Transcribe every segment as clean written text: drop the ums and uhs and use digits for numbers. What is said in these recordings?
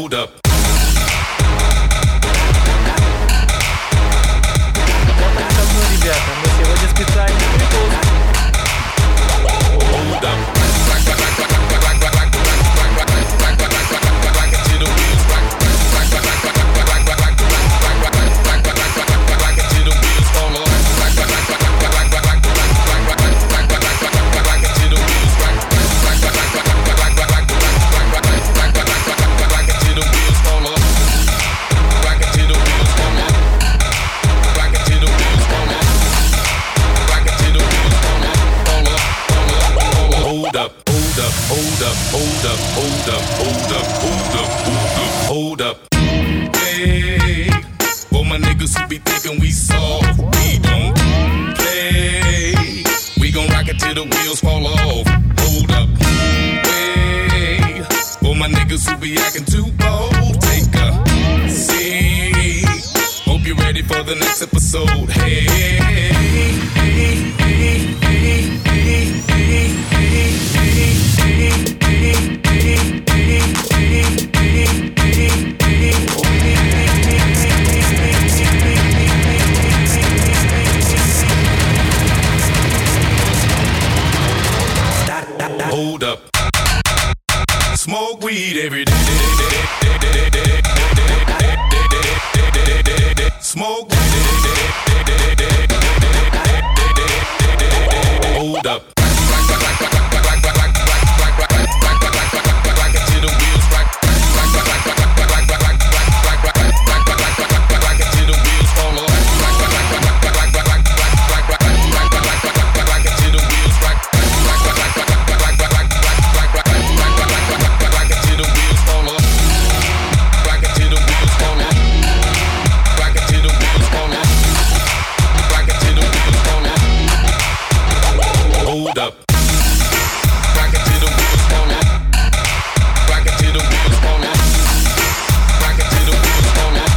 Hold up. Давно, ребята, мы сегодня специальный выпуск. Hold up. Hold up. Hey, for my niggas who be thinking we soft, we don't play. We gon' rock it till the wheels fall off. Hold up. Hey, for my niggas who be acting too bold, take a seat. Hope you're ready for the next episode. Hey, hey, hey, hey, hey, hey, hey, hey, hold up. Smoke weed every day. Smoke weed. Hold up. Hold up. Rock it till the wheels fall off. Rock it till the wheels fall off. Rock it till the wheels fall off.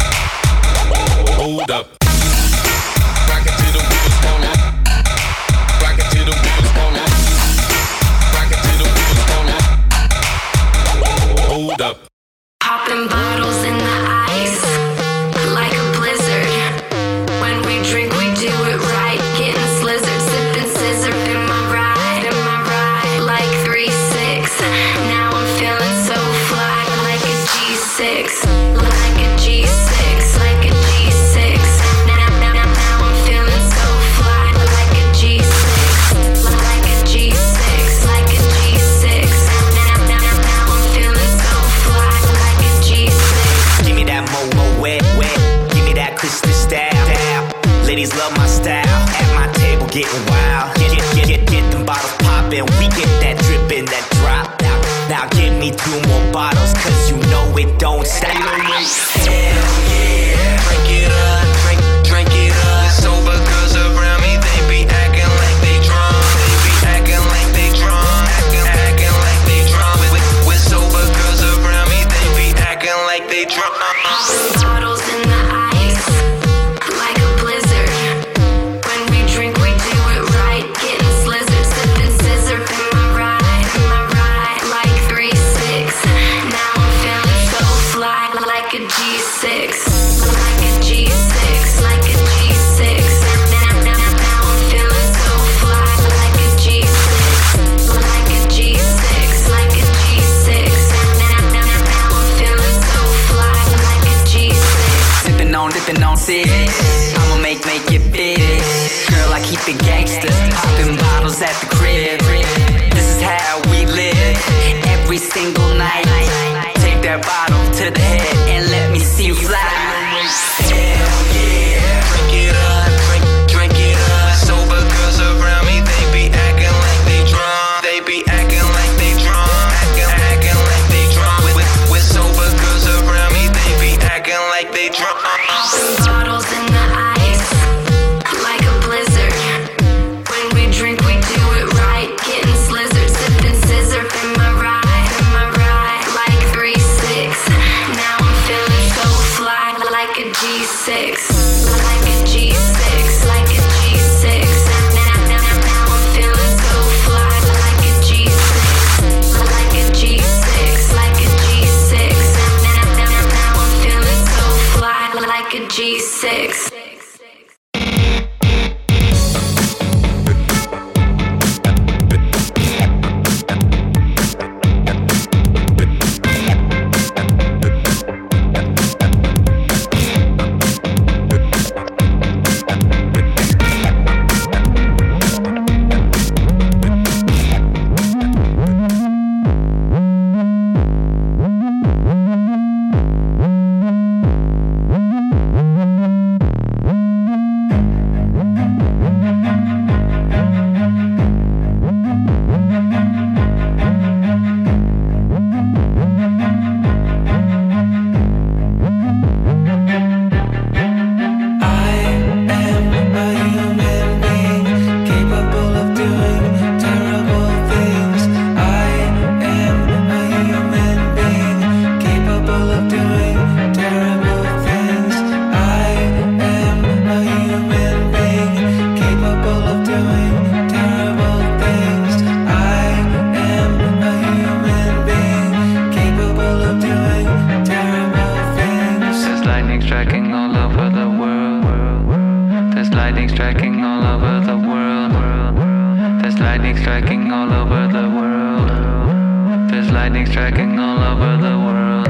Hold up. Rock it till the wheels fall off. Rock it till the wheels fall off. Rock it till the wheels fall off. Hold up. Popping bottles in the ice like a blizzard. When we drink, we do it right. Getting slizzard, sipping scissor. Am I right? Like 3-6. Now I'm feeling so fly, like a G6. Like a G6. Like a G6. Now I'm feeling so fly, like a G6. Like a G6. Like a G6. Now I'm feeling so fly, like a G6. Give me that mo wet. Give me that crystal style. Ladies love my style. At my table getting wild. Get them bottles poppin'. We get that drippin', that drop. Now give me 2 more bottles, cause you know it don't stop. Hell yeah. Drink it up, drink it up. Sober girls around me, they be acting like they drunk. They be acting like they drunk. Acting like they drunk. With sober girls around me, they be acting like they drunk. Bottles in the ice like a blizzard. When we drink, we do it right. Getting slizzard, sipping scissor. Am I right? Like 3-6. Now I'm feeling so fly, like a G6. Like a G6. Like a G6. Now I'm feeling so fly, like a G6. Like a G6. Like a G6. Now I'm feeling so fly, like a G6. Sippin' on six. I'ma make it big. Girl, I keep it gangsta. Poppin' bottles at the crib. This is how we live. Every single night. Take that bottle to the head and let me see you fly. Hell yeah. Drink it up, drink it up. Sober girls around me, they be acting like they drunk. They be acting like they drunk. Acting like they drunk. With sober girls around me, they be acting like they drunk. Bottles in the ice like a blizzard. When we drink, we do it right. Getting slizzard, sipping scissor. Am I right? Like 3-6. Now I'm feeling so fly, like a G6. Like a G6. Like a G6. Now I'm feeling so fly, like a G6. Like a G6. Like a G6. of doing terrible things. I am a human being capable of doing terrible things. I am a human being capable of doing terrible things. There's lightning striking all over the world. There's lightning striking all over the world. There's lightning striking all over the world. There's lightning striking all over the world.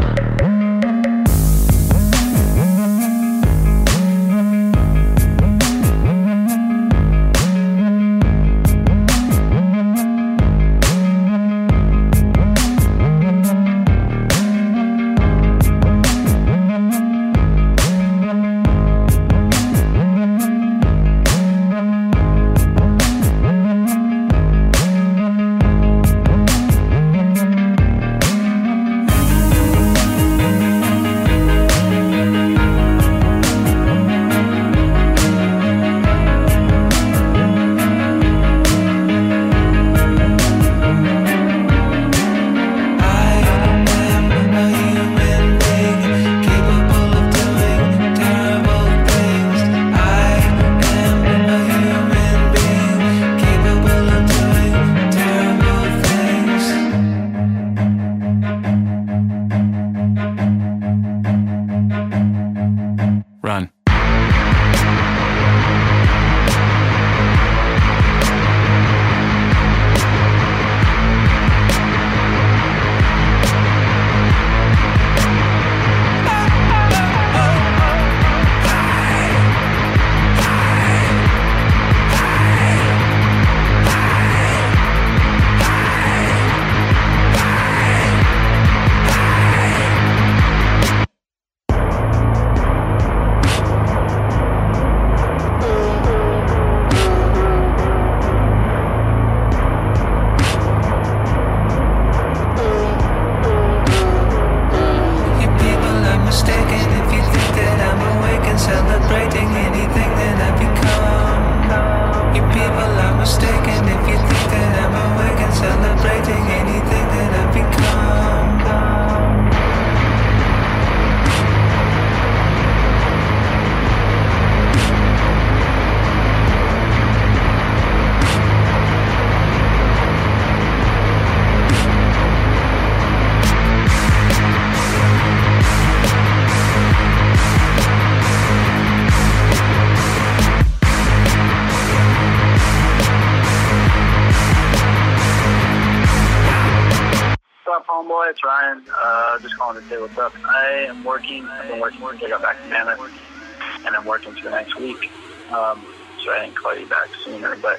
It's Ryan. Just calling to say what's up. I am working. I've been working since I got back to Mammoth, and I'm working for the next week. So I didn't call you back sooner, but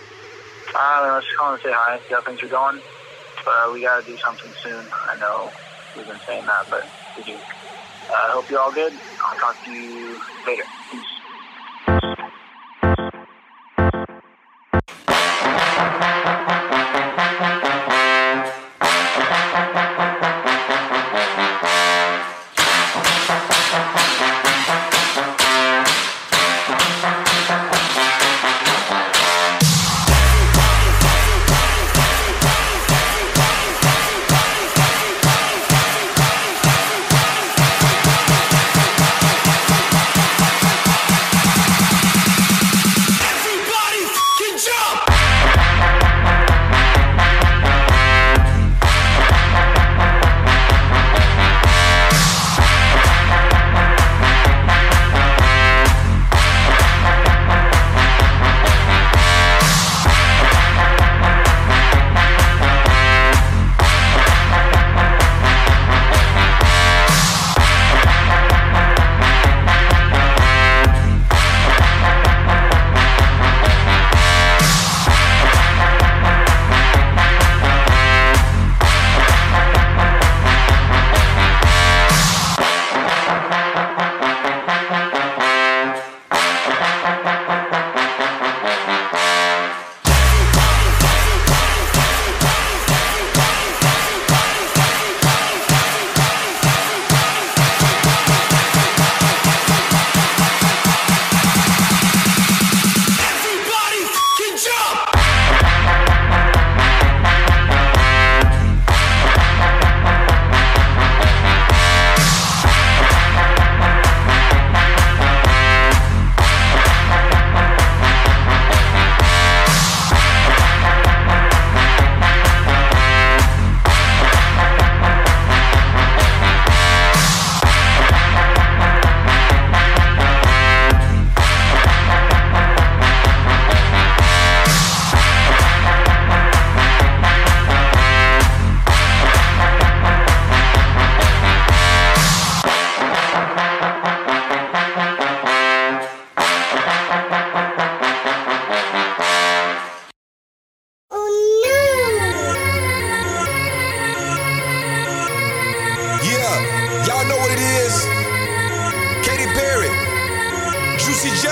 I was just calling to say hi, see how things are going. But we got to do something soon. I know we've been saying that, but we do. I hope you're all good. I'll talk to you later. Peace. it is. Katy Perry, Juicy J.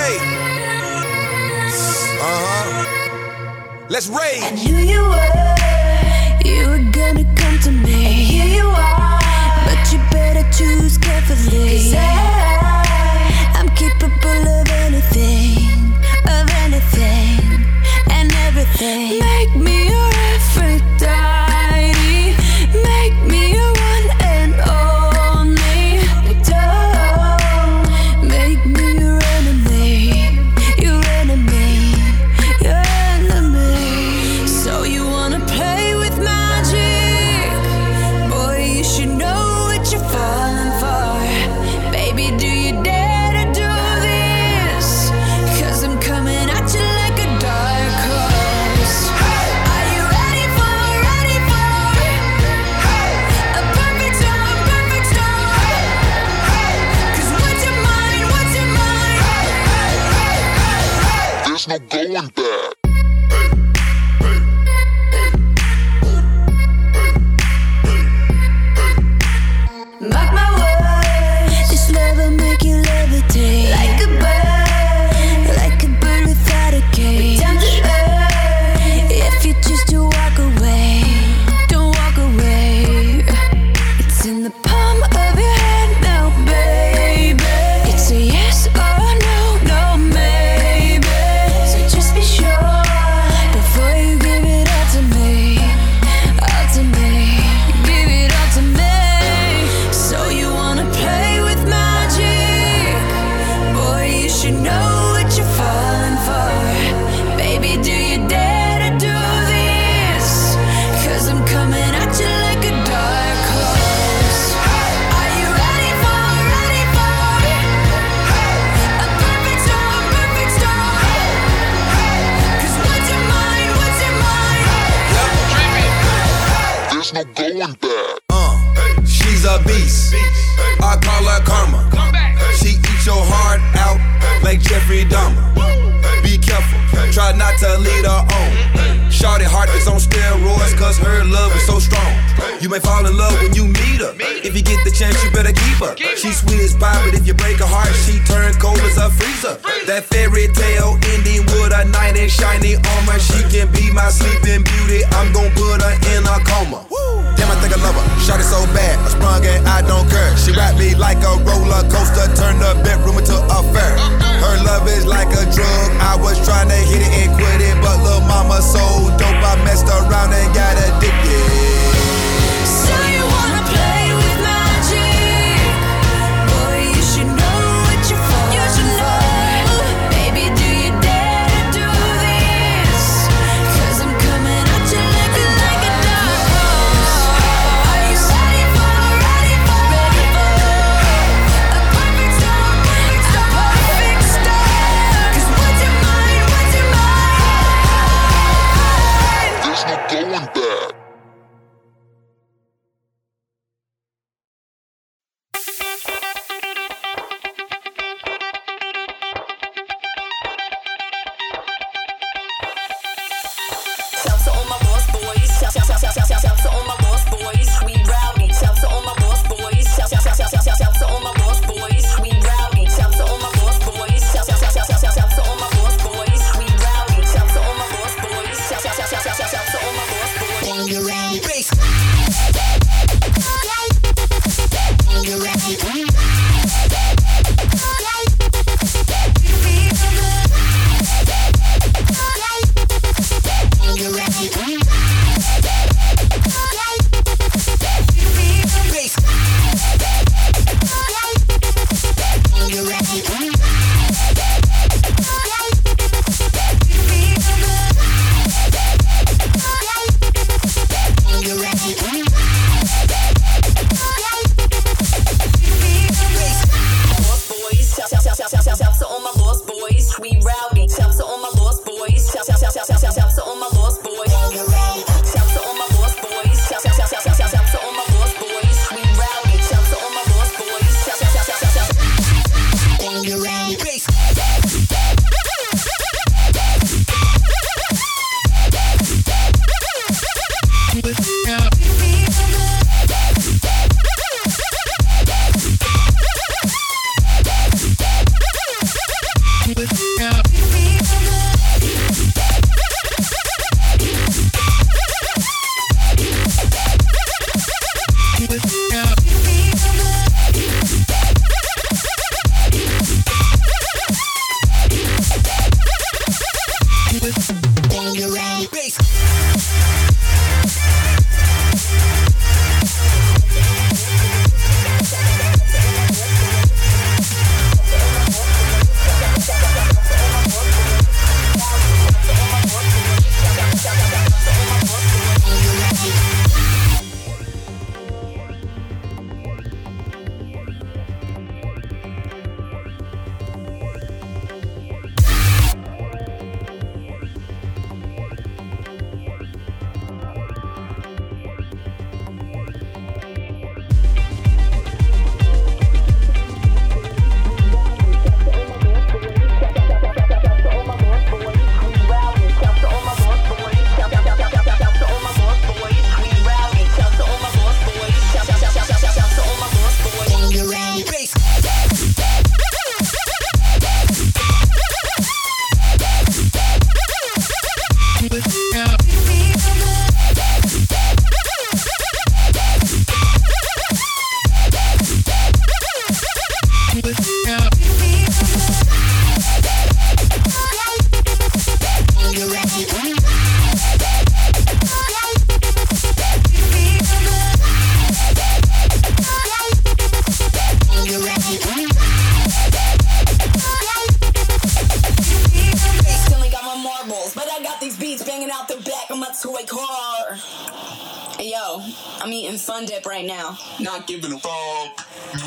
Let's rage. I knew you were gonna come to me. And here you are, but you better choose carefully. 'Cause I'm capable of anything, and everything. Make me your Aphrodite, make me your one and only. Don't make me your enemy, your enemy, your enemy. So you wanna play with magic? Boy, you should know what you're falling for. Baby, do you dare to do this? 'Cause I'm coming at you like a dark horse. Are you ready for a perfect storm, perfect storm? 'Cause what's your mind, what's your mind? There's no going back. Mark my words, this love will make you levitate like a bird without a cage. Down to earth, if you choose to walk away, don't walk away. It's in the palm of your hand now, baby. It's a yes or no, no maybe. So just be sure before you give it all to me, all to me. Give it all to me. So you wanna play with magic? Boy, you should know what you're falling for. Baby, do you dare to do this? 'Cause I'm coming at you like a dark horse. Are you ready for a perfect storm, perfect storm? 'Cause what's your mind, what's your mind? There's no going back. She's a beast. I call her karma. She eats your heart out like Jeffrey Dahmer. Be careful, try not to lead her on. Shorty heart is on steroids, 'cause her love is so strong. You may fall in love when you meet her. If you get the chance, you better keep her. She's sweet as pie, but if you break her heart, she turn cold as a freezer. That fairy tale ending with a knight in shiny armor. She can be my sleeping beauty. I'm gon' put her in a coma. Damn, I think I love her. Shot it so bad, I sprung and I don't care. She wrapped me like a roller coaster, turned the bedroom into a fair. Her love is like a drug. I was trying to hit it and quit it, but lil' mama so dope, I messed around and got addicted. So you wanna play with magic? Boy, you should know what you're falling for. Baby, do you dare to do this? 'Cause I'm coming at you like a dark horse. Are you ready for a perfect storm, perfect storm? 'Cause what's your mind, what's your mind? There's no going back. to a car. Hey, yo, I'm eating Fun Dip right now. Not giving a fuck.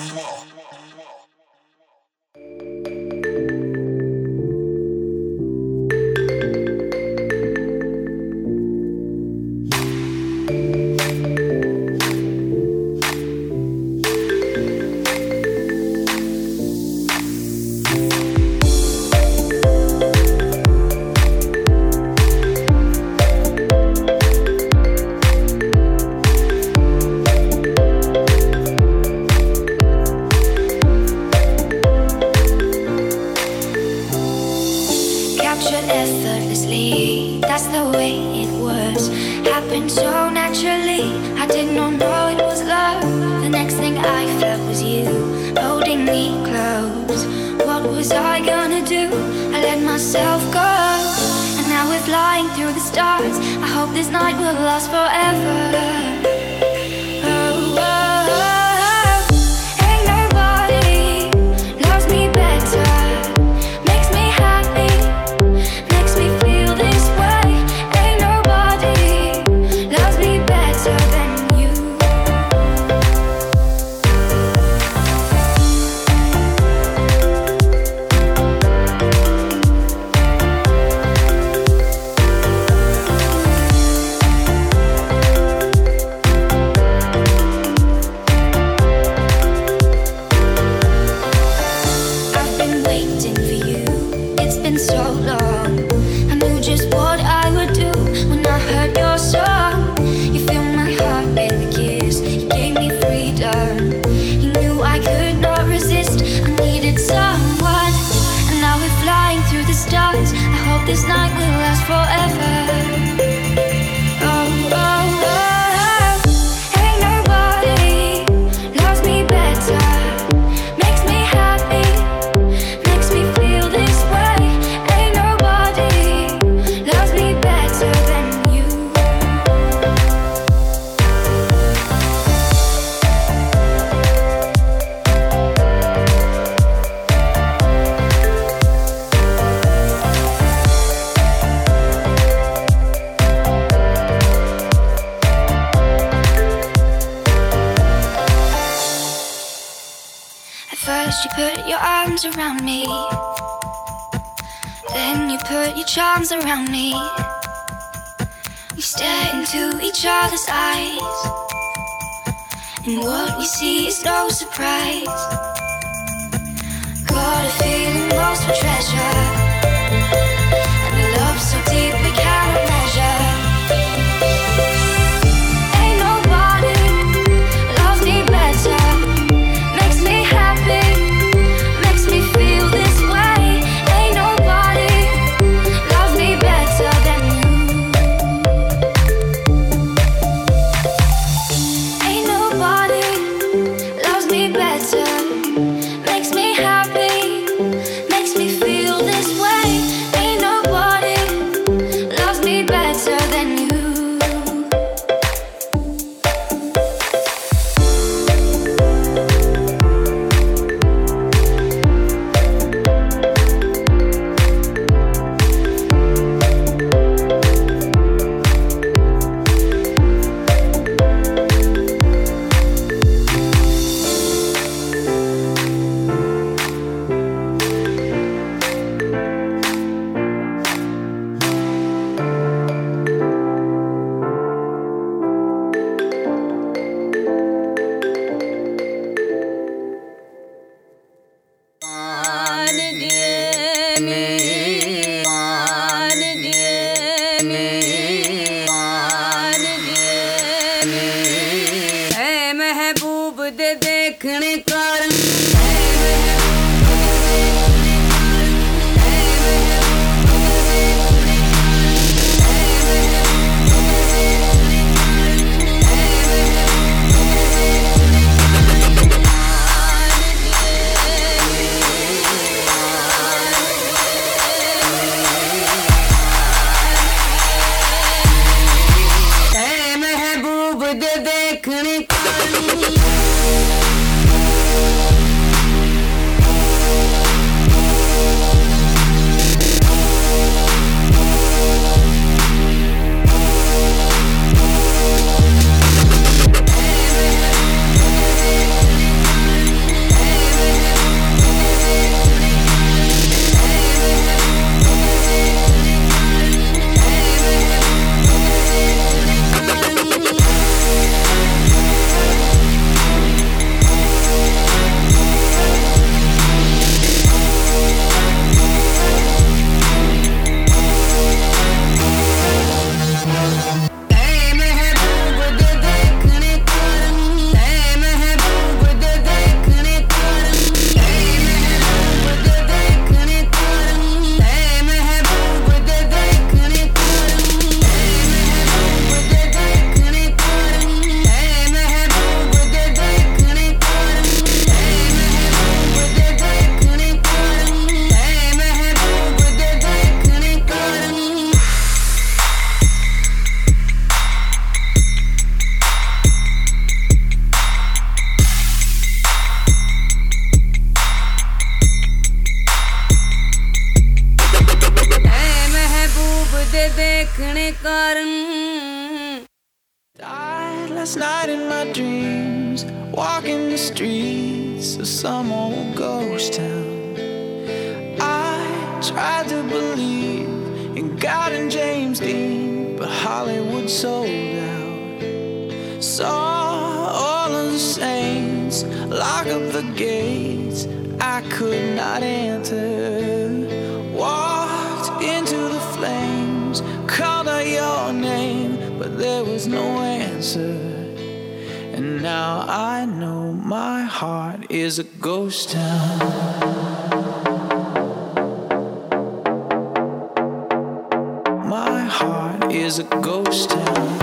Captured effortlessly, that's the way it was. Happened so naturally, I did not know it was love. The next thing I felt was you, holding me close. What was I gonna do? I let myself go. And now we're flying through the stars. I hope this night will last forever. Oh, oh, oh. Ain't nobody loves me better. Makes me happy, makes me feel this way. Ain't nobody loves me better than you. I've been waiting for you, it's been so long. I knew just what I would do when I heard your song. You filled my heart with a kiss, you gave me freedom. You knew I could not resist, I needed someone. And now we're flying through the stars. I hope this night will last forever. Oh, oh, oh. Ain't nobody loves me better. Makes me happy, makes me feel this way. Ain't nobody loves me better than you. At first you put your arms around me, then you put your charms around me. We stare into each other's eyes, and what we see is no surprise. Got a feeling lost for treasure, and a love so deep we cannot measure. Ain't nobody loves me better. Makes me happy, makes me feel this way. Ain't nobody loves me better than you. Ain't nobody loves me better. garden. Died last night in my dreams, walking the streets of some old ghost town. I tried to believe in God and James Dean, but Hollywood sold out. Saw all of the saints lock up the gates I could not enter. Walked into the flames, called out your name, but there was no answer. And now I know my heart is a ghost town. My heart is a ghost town.